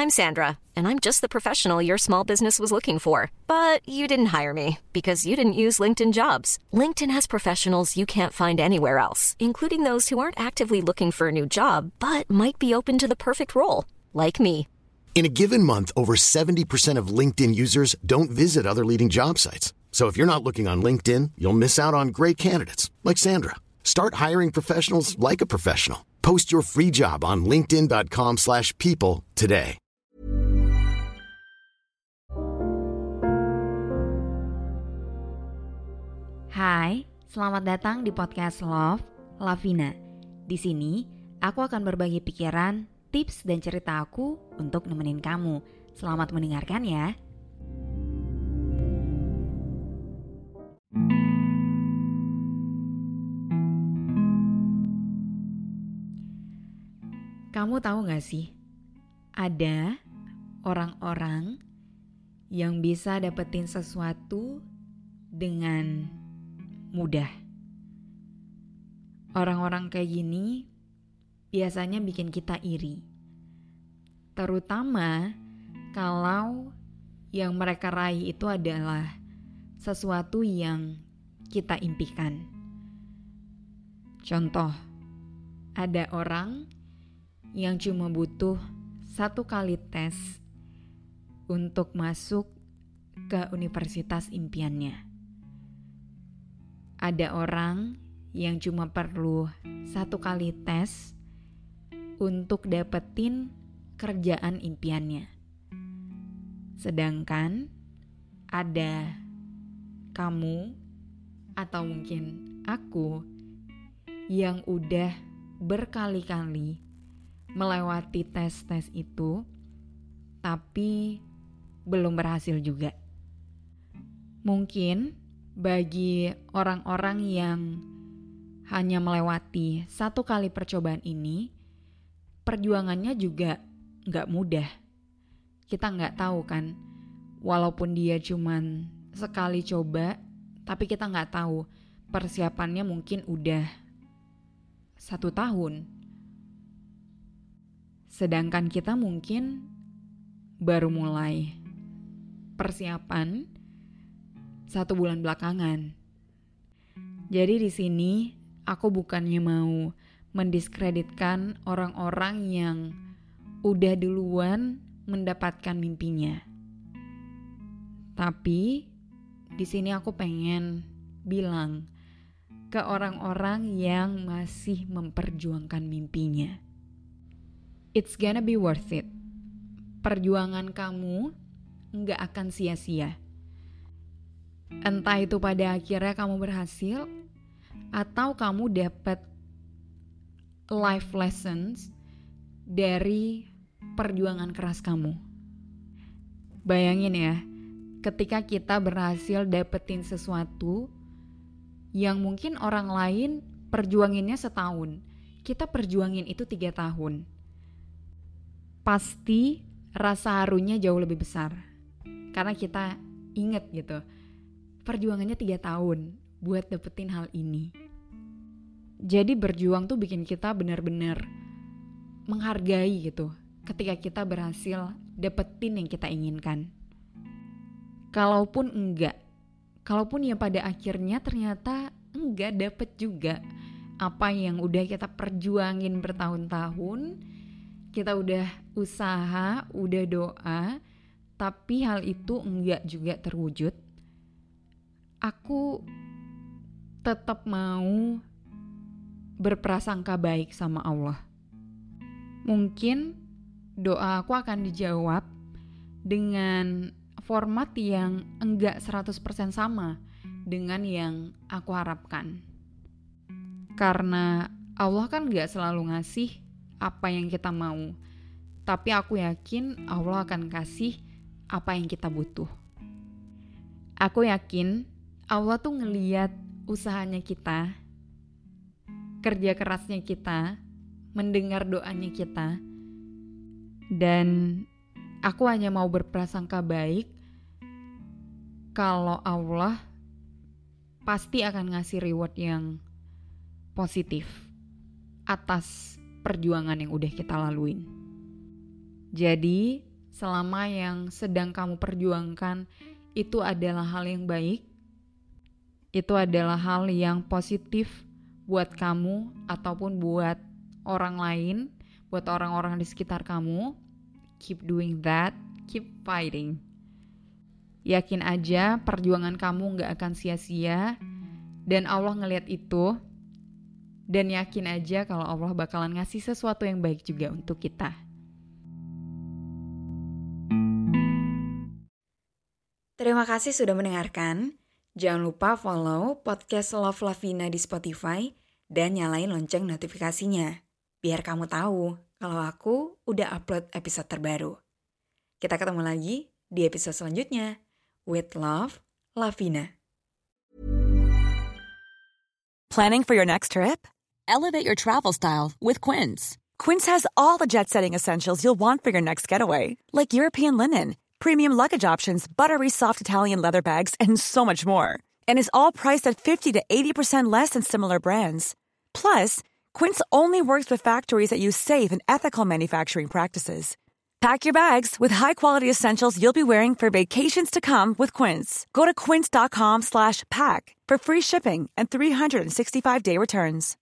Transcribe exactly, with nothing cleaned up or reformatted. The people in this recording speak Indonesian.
I'm Sandra, and I'm just the professional your small business was looking for. But you didn't hire me because you didn't use LinkedIn Jobs. LinkedIn has professionals you can't find anywhere else, including those who aren't actively looking for a new job, but might be open to the perfect role, like me. In a given month, over seventy percent of LinkedIn users don't visit other leading job sites. So if you're not looking on LinkedIn, you'll miss out on great candidates like Sandra. Start hiring professionals like a professional. Post your free job on linkedin.com slash people today. Hai, selamat datang di podcast Love, Lavina. Di sini, aku akan berbagi pikiran, tips, dan cerita aku untuk nemenin kamu. Selamat mendengarkan ya. Kamu tahu gak sih, ada orang-orang yang bisa dapetin sesuatu dengan mudah. Orang-orang kayak gini biasanya bikin kita iri. Terutama kalau yang mereka raih itu adalah sesuatu yang kita impikan. Contoh, ada orang yang cuma butuh satu kali tes untuk masuk ke universitas impiannya. Ada orang yang cuma perlu satu kali tes untuk dapetin kerjaan impiannya. Sedangkan ada kamu atau mungkin aku yang udah berkali-kali melewati tes-tes itu, tapi belum berhasil juga. Mungkin bagi orang-orang yang hanya melewati satu kali percobaan ini, perjuangannya juga gak mudah. Kita gak tahu kan, walaupun dia cuman sekali coba, tapi kita gak tahu persiapannya mungkin udah satu tahun. Sedangkan kita mungkin baru mulai persiapan satu bulan belakangan. Jadi di sini aku bukannya mau mendiskreditkan orang-orang yang udah duluan mendapatkan mimpinya. Tapi di sini aku pengen bilang ke orang-orang yang masih memperjuangkan mimpinya. It's gonna be worth it. Perjuangan kamu nggak akan sia-sia. Entah itu pada akhirnya kamu berhasil atau kamu dapat life lessons dari perjuangan keras kamu. Bayangin ya, ketika kita berhasil dapetin sesuatu yang mungkin orang lain perjuanginnya setahun, kita perjuangin itu tiga tahun. Pasti rasa harunya jauh lebih besar. Karena kita inget gitu, perjuangannya tiga tahun buat dapetin hal ini. Jadi berjuang tuh bikin kita benar-benar menghargai gitu ketika kita berhasil dapetin yang kita inginkan. Kalaupun enggak, kalaupun ya pada akhirnya ternyata enggak dapet juga apa yang udah kita perjuangin bertahun-tahun, kita udah usaha, udah doa, tapi hal itu enggak juga terwujud. Aku tetap mau berprasangka baik sama Allah. Mungkin doa aku akan dijawab dengan format yang enggak seratus persen sama dengan yang aku harapkan. Karena Allah kan enggak selalu ngasih apa yang kita mau, tapi aku yakin Allah akan kasih apa yang kita butuh. Aku yakin Allah tuh ngeliat usahanya kita, kerja kerasnya kita, mendengar doanya kita, dan aku hanya mau berprasangka baik kalau Allah pasti akan ngasih reward yang positif atas perjuangan yang udah kita laluin. Jadi selama yang sedang kamu perjuangkan itu adalah hal yang baik, itu adalah hal yang positif buat kamu ataupun buat orang lain, buat orang-orang di sekitar kamu, keep doing that, keep fighting. Yakin aja perjuangan kamu gak akan sia-sia dan Allah ngelihat itu, dan yakin aja kalau Allah bakalan ngasih sesuatu yang baik juga untuk kita. Terima kasih sudah mendengarkan. Jangan lupa follow podcast Love Lavina di Spotify dan nyalain lonceng notifikasinya, biar kamu tahu kalau aku udah upload episode terbaru. Kita ketemu lagi di episode selanjutnya. With love, Lavina. Planning for your next trip? Elevate your travel style with Quince. Quince has all the jet-setting essentials you'll want for your next getaway, like European linen, premium luggage options, buttery soft Italian leather bags, and so much more. And is all priced at fifty to eighty percent less than similar brands. Plus, Quince only works with factories that use safe and ethical manufacturing practices. Pack your bags with high-quality essentials you'll be wearing for vacations to come with Quince. Go to quince.com slash pack for free shipping and three sixty-five day returns.